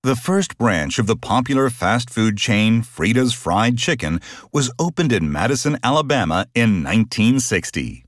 The first branch of the popular fast food chain Frida's Fried Chicken was opened in Madison, Alabama in 1960.